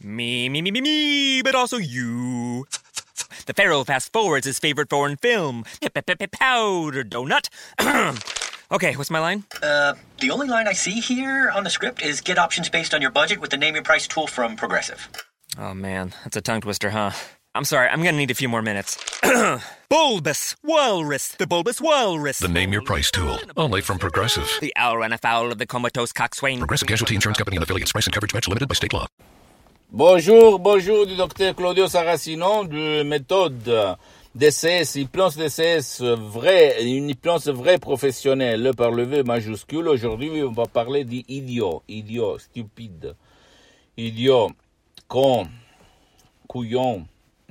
Me, but also you. The Pharaoh fast forwards his favorite foreign film, Powder Donut. Okay, what's my line? The only line I see here on the script is get options based on your budget with the Name Your Price tool from Progressive. Oh man, that's a tongue twister, huh? I'm sorry, I'm gonna need a few more minutes. Bulbous Walrus, the Bulbous Walrus. The Name Your Price tool, only from Progressive. The owl ran afoul of the comatose coxswain. Progressive Casualty Insurance Company and affiliates. Price and coverage match limited by state law. Bonjour du docteur Claudio Saracino de méthode DCS, hypnose DCS vrai, une hypnose vraie professionnelle par le V majuscule. Aujourd'hui, on va parler d'idiot, stupide, idiot, con, couillon,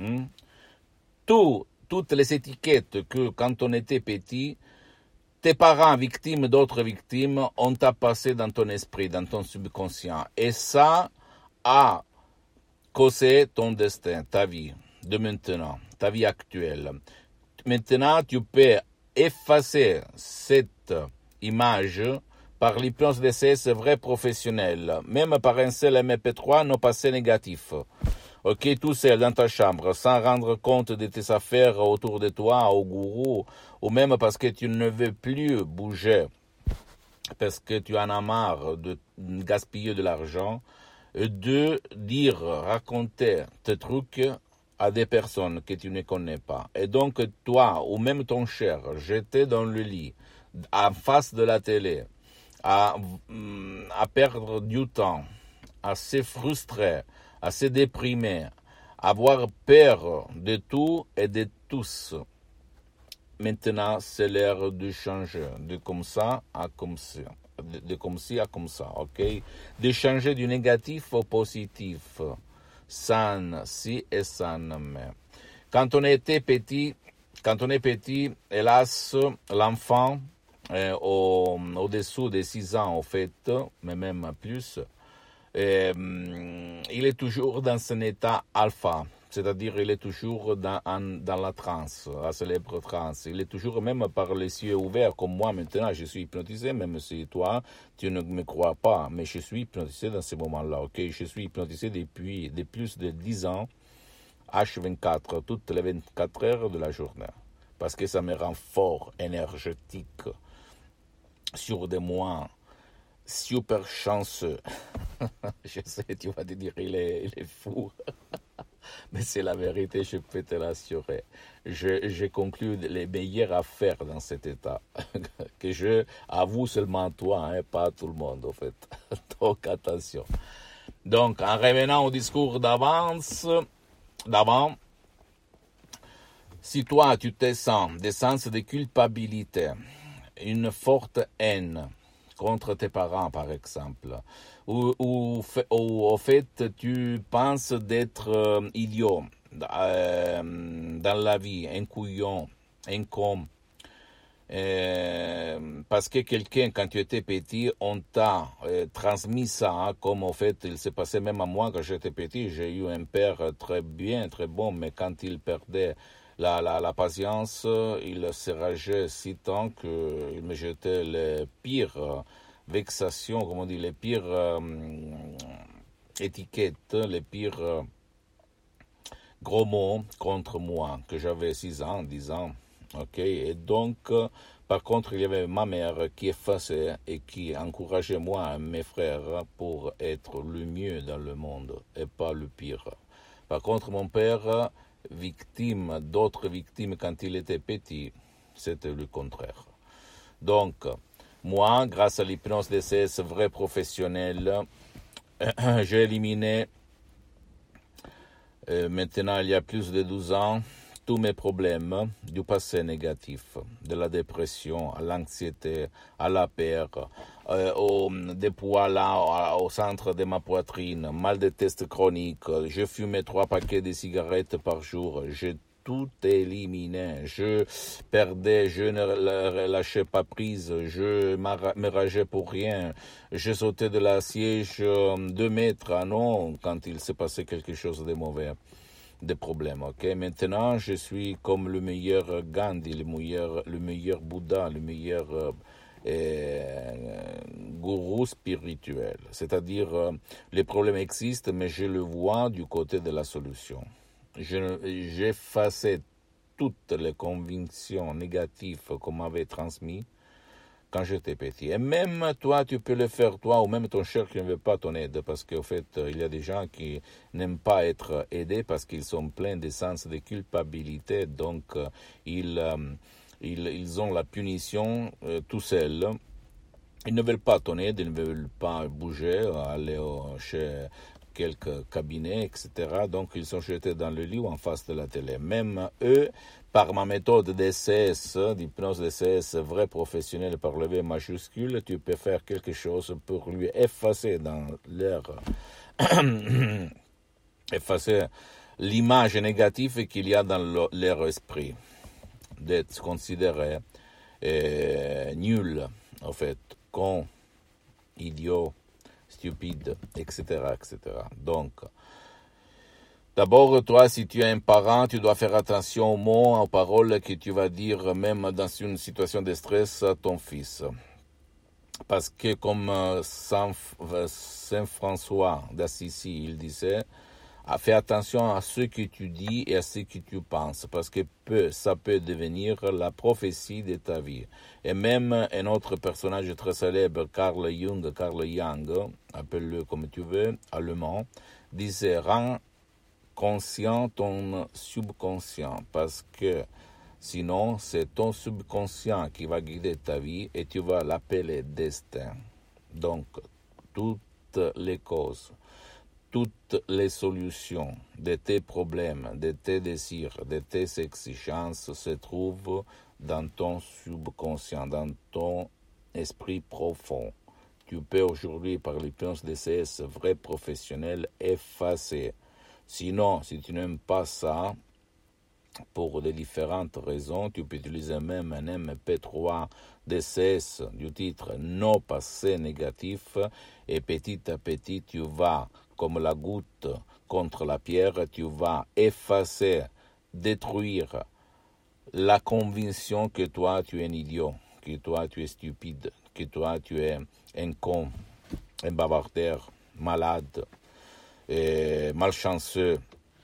toutes les étiquettes que quand on était petit, tes parents victimes d'autres victimes, on t'a passé dans ton esprit, dans ton subconscient. Et ça a causé ton destin, ta vie de maintenant, ta vie actuelle. Maintenant, tu peux effacer cette image par l'hypnose DCS vrai professionnel, même par un seul MP3 non passé négatif. Ok, tout seul dans ta chambre, sans rendre compte de tes affaires autour de toi, au gourou, ou même parce que tu ne veux plus bouger, parce que tu en as marre de gaspiller de l'argent, de dire, raconter tes trucs à des personnes que tu ne connais pas. Et donc, toi, ou même ton cher, jeté dans le lit, en face de la télé, à perdre du temps, à se frustrer, à se déprimer, à avoir peur de tout et de tous. Maintenant, c'est l'heure de changer, de comme ça à comme ça. De comme ci à comme ça, ok? De changer du négatif au positif, sans si et sans mais. Quand on est petit, hélas, l'enfant, au-dessous de 6 ans, en fait, mais même plus, il est toujours dans un état alpha. C'est-à-dire, il est toujours dans la transe, la célèbre transe. Il est toujours, même par les yeux ouverts, comme moi maintenant, je suis hypnotisé, même si toi, tu ne me crois pas. Mais je suis hypnotisé dans ce moment-là, ok? Je suis hypnotisé depuis plus de 10 ans, H24, toutes les 24 heures de la journée. Parce que ça me rend fort, énergétique, sûr de moi, super chanceux. Je sais, tu vas te dire, il est fou. Mais c'est la vérité, je peux te l'assurer. J'ai conclu les meilleures affaires dans cet état. Que je avoue seulement toi, pas à tout le monde, en fait. Donc, attention. Donc, en revenant au discours d'avant, si toi, tu te sens des sens de culpabilité, une forte haine contre tes parents, par exemple, ou au fait, tu penses d'être idiot dans la vie, un couillon, un con, parce que quelqu'un, quand tu étais petit, on t'a transmis ça, comme au fait, il s'est passé même à moi quand j'étais petit. J'ai eu un père très bien, très bon, mais quand il perdait la patience, il se rageait si tant qu'il me jetait les pires vexations, comme on dit, les pires étiquettes, les pires gros mots contre moi, que j'avais 6 ans, 10 ans. Ok, et donc, par contre, il y avait ma mère qui effaçait et qui encourageait moi et mes frères pour être le mieux dans le monde et pas le pire. Par contre, mon père, victime d'autres victimes quand il était petit, c'était le contraire. Donc, moi, grâce à l'hypnose DCS vrai professionnel, j'ai éliminé, maintenant il y a plus de 12 ans, tous mes problèmes du passé négatif, de la dépression, à l'anxiété, à la peur, des poids là au centre de ma poitrine, mal de test chronique, je fumais 3 paquets de cigarettes par jour, j'ai tout éliminé, je perdais, je ne lâchais pas prise, je me rageais pour rien, je sautais de la siège 2 mètres, ah non, quand il s'est passé quelque chose de mauvais. Des problèmes, ok? Maintenant, je suis comme le meilleur Gandhi, le meilleur Bouddha, le meilleur gourou spirituel. C'est-à-dire, les problèmes existent, mais je le vois du côté de la solution. J'effaçais toutes les convictions négatives qu'on m'avait transmises quand j'étais petit. Et même toi, tu peux le faire, toi, ou même ton cher qui ne veut pas ton aide, parce qu'au fait, il y a des gens qui n'aiment pas être aidés parce qu'ils sont pleins de sens de culpabilité, donc ils ont la punition tout seuls. Ils ne veulent pas ton aide, ils ne veulent pas bouger, aller chez quelques cabinets, etc. Donc, ils sont jetés dans le lit ou en face de la télé. Même eux, par ma méthode DCS, d'hypnose DCS, vrai professionnel par le V majuscule, tu peux faire quelque chose pour lui effacer dans leur... effacer l'image négative qu'il y a dans leur esprit, d'être considéré nul, en fait, con, idiot, stupide, etc., etc. Donc, d'abord, toi, si tu es un parent, tu dois faire attention aux mots, aux paroles que tu vas dire, même dans une situation de stress, à ton fils. Parce que, comme Saint François d'Assisi, il disait, fais attention à ce que tu dis et à ce que tu penses, parce que ça peut devenir la prophétie de ta vie. Et même un autre personnage très célèbre, Carl Jung, appelle-le comme tu veux, allemand, disait « Rends conscient ton subconscient », parce que sinon c'est ton subconscient qui va guider ta vie et tu vas l'appeler destin. Donc, toutes les causes, toutes les solutions de tes problèmes, de tes désirs, de tes exigences se trouvent dans ton subconscient, dans ton esprit profond. Tu peux aujourd'hui, par l'hypnose DCS vrai professionnel, effacer. Sinon, si tu n'aimes pas ça, pour de différentes raisons, tu peux utiliser même un MP3 DCS du titre « Non passé négatif » et petit à petit, tu vas, comme la goutte contre la pierre, tu vas effacer, détruire la conviction que toi, tu es un idiot, que toi, tu es stupide, que toi, tu es un con, un bavardeur, malade, malchanceux,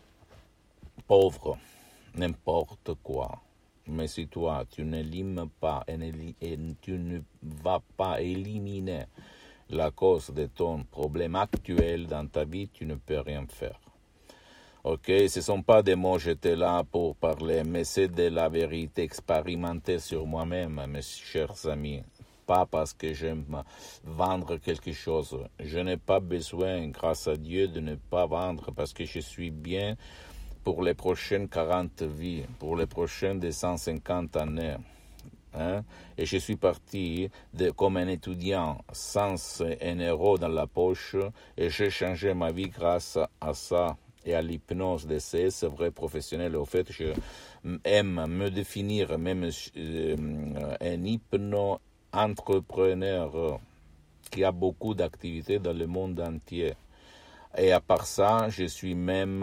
pauvre, n'importe quoi. Mais si toi, tu n'élimines pas et tu ne vas pas éliminer la cause de ton problème actuel dans ta vie, tu ne peux rien faire. Ok, ce ne sont pas des mots, j'étais là pour parler, mais c'est de la vérité expérimentée sur moi-même, mes chers amis. Pas parce que j'aime vendre quelque chose. Je n'ai pas besoin, grâce à Dieu, de ne pas vendre parce que je suis bien pour les prochaines 40 vies, pour les prochaines 250 années. Hein? Et je suis parti comme un étudiant sans un euro dans la poche et j'ai changé ma vie grâce à ça et à l'hypnose DCS vrai professionnel. Au fait, je aime me définir même un hypno-entrepreneur qui a beaucoup d'activités dans le monde entier. Et à part ça, j'ai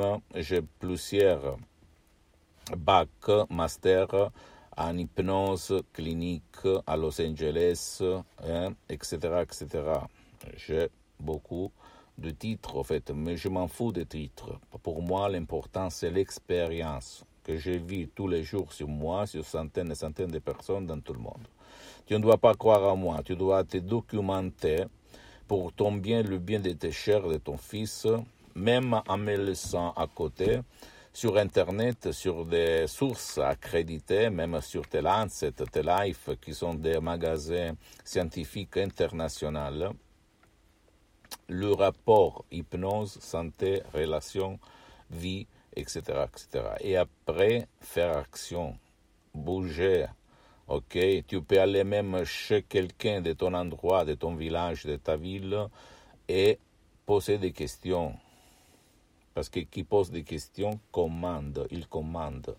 plusieurs bacs, master en hypnose clinique à Los Angeles, etc., etc. J'ai beaucoup de titres, en fait, mais je m'en fous des titres. Pour moi, l'important, c'est l'expérience que je vis tous les jours sur moi, sur centaines et centaines de personnes dans tout le monde. Tu ne dois pas croire à moi, tu dois te documenter pour ton bien, le bien de tes chers, de ton fils, même en me laissant à côté, sur Internet, sur des sources accréditées, même sur tes Lancet, tes Life, qui sont des magasins scientifiques internationaux, le rapport hypnose, santé, relation, vie, etc., etc. Et après, faire action, bouger. Ok, tu peux aller même chez quelqu'un de ton endroit, de ton village, de ta ville et poser des questions. Parce que qui pose des questions commande, il commande.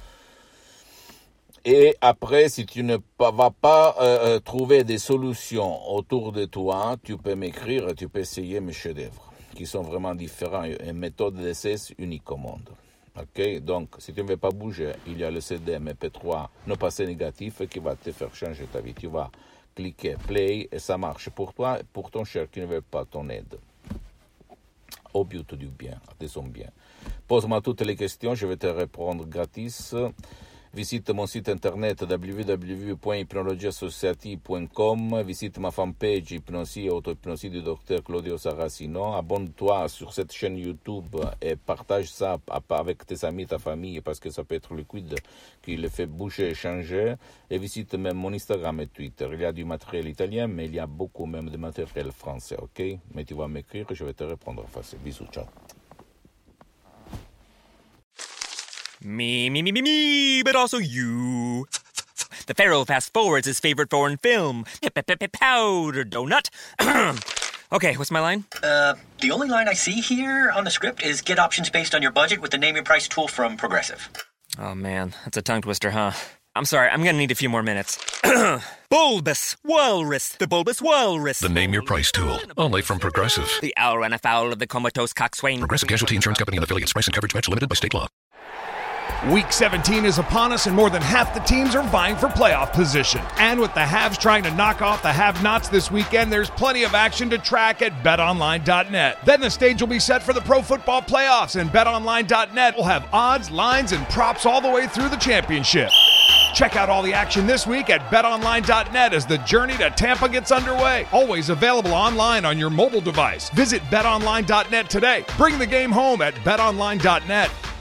Et après, si tu ne vas pas trouver des solutions autour de toi, tu peux m'écrire, tu peux essayer mes chefs-d'œuvre, qui sont vraiment différents, une méthode d'essai unique au monde. Ok, donc si tu ne veux pas bouger, il y a le CD MP3 non passé négatif qui va te faire changer ta vie. Tu vas cliquer play et ça marche pour toi et pour ton cher qui ne veut pas ton aide. Au but du bien, de son bien. Pose-moi toutes les questions, je vais te répondre gratis. Visite mon site internet www.hypnologieassociative.com. Visite ma fanpage Hypnosie et auto-hypnosie du docteur Claudio Saracino. Abonne-toi sur cette chaîne YouTube et partage ça avec tes amis, ta famille, parce que ça peut être liquide qui le fait bouger et changer. Et visite même mon Instagram et Twitter. Il y a du matériel italien, mais il y a beaucoup même de matériel français, ok? Mais tu vas m'écrire et je vais te répondre en face. Bisous, ciao. Me, but also you. The Pharaoh fast forwards his favorite foreign film, Powder Donut. Okay, what's my line? The only line I see here on the script is get options based on your budget with the name your price tool from Progressive. Oh man, that's a tongue twister, huh? I'm sorry, I'm gonna need a few more minutes. Bulbous Walrus, the Bulbous Walrus. The Name Your Price tool, only from Progressive. The owl ran afoul of the comatose coxswain. Progressive Casualty Insurance Company and affiliates. Price and coverage match limited by state law. Week 17 is upon us, and more than half the teams are vying for playoff position. And with the haves trying to knock off the have-nots this weekend, there's plenty of action to track at BetOnline.net. Then the stage will be set for the Pro Football Playoffs, and BetOnline.net will have odds, lines, and props all the way through the championship. Check out all the action this week at BetOnline.net as the journey to Tampa gets underway. Always available online on your mobile device. Visit BetOnline.net today. Bring the game home at BetOnline.net.